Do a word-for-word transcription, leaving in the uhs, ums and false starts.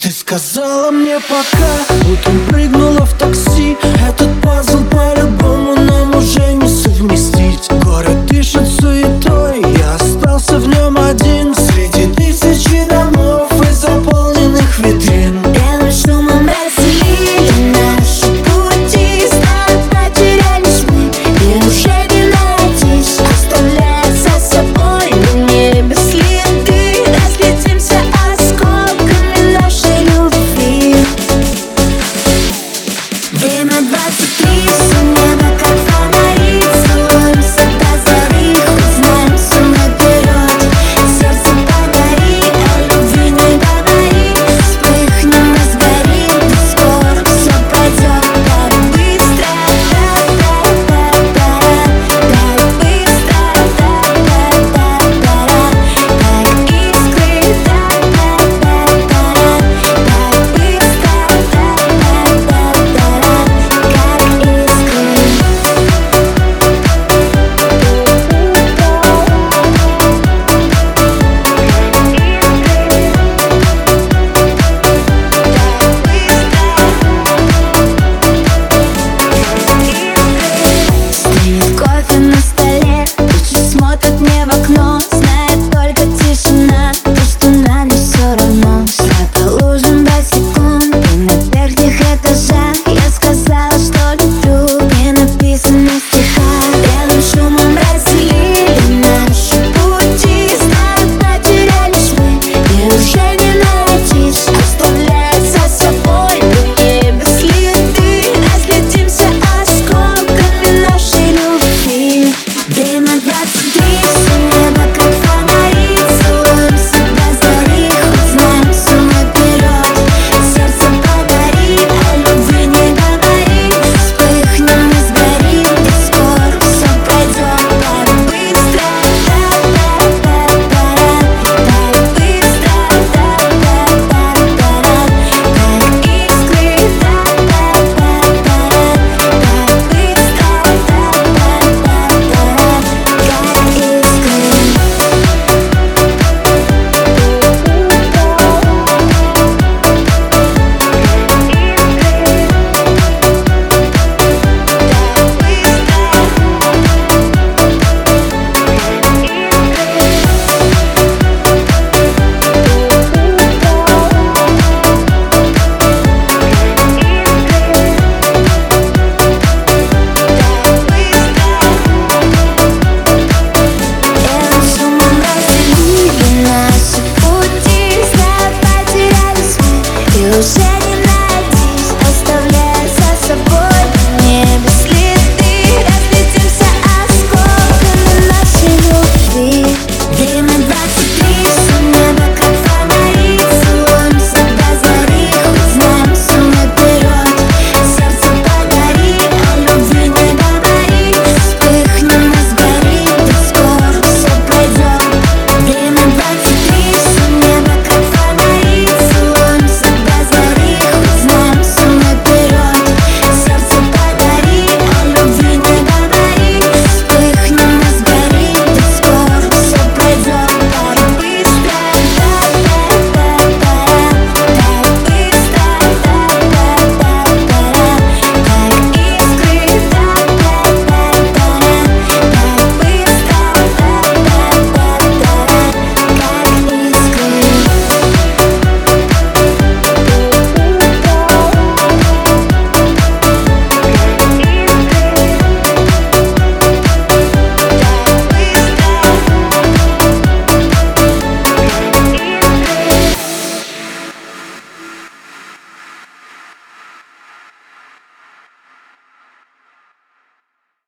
Ты сказала мне пока, утром прыгнула в такси. Этот пазл по-любому нам уже не совместить. Город дышит суетой, я остался в нем один среди тысячи домов и заполненных витрин. Белым шумом разделили наши пути, снова потерялись мы, и уже не найдись, оставляя за собой на небе следы. Разлетимся осколками нашей любви. Время двадцать три, все небо как фонари, целуемся до зари, хоть знаем все наперед. Сердце погори, о любви не говори, вспыхнем и сгорим, и скоро все пройдет так быстро, та-та-та-та-та, так быстро, та-та-та-та-та, как искры, та-та-та-та-та, так быстро, та-та-та-та-та, как Стоит кофе на столе, лучше смотрит мне в окно, знает только тишина, то, что нам не все равно. Шла по лужам босиком и на верхних этажах я сказала, что люблю в ненаписанных стихах. Белым шумом разделили наши пути, снова потерялись мы, и уже не найдись, оставляя за собой на небе следы. Разлетимся осколками нашей любви. Время двадцать три, все небо как фонари, целуемся до зари, хоть знаем все наперед. Сердце погори, о любви не говори, вспыхнем и сгорим, и скоро все пройдет так быстро, та-та-та-та-та, так быстро, та-та-та-та-та, как искры, та-та-та-та-та, так быстро, та-та-та-та-та, как искры. Белым шумом разделили наши пути, снова потерялись мы, и уже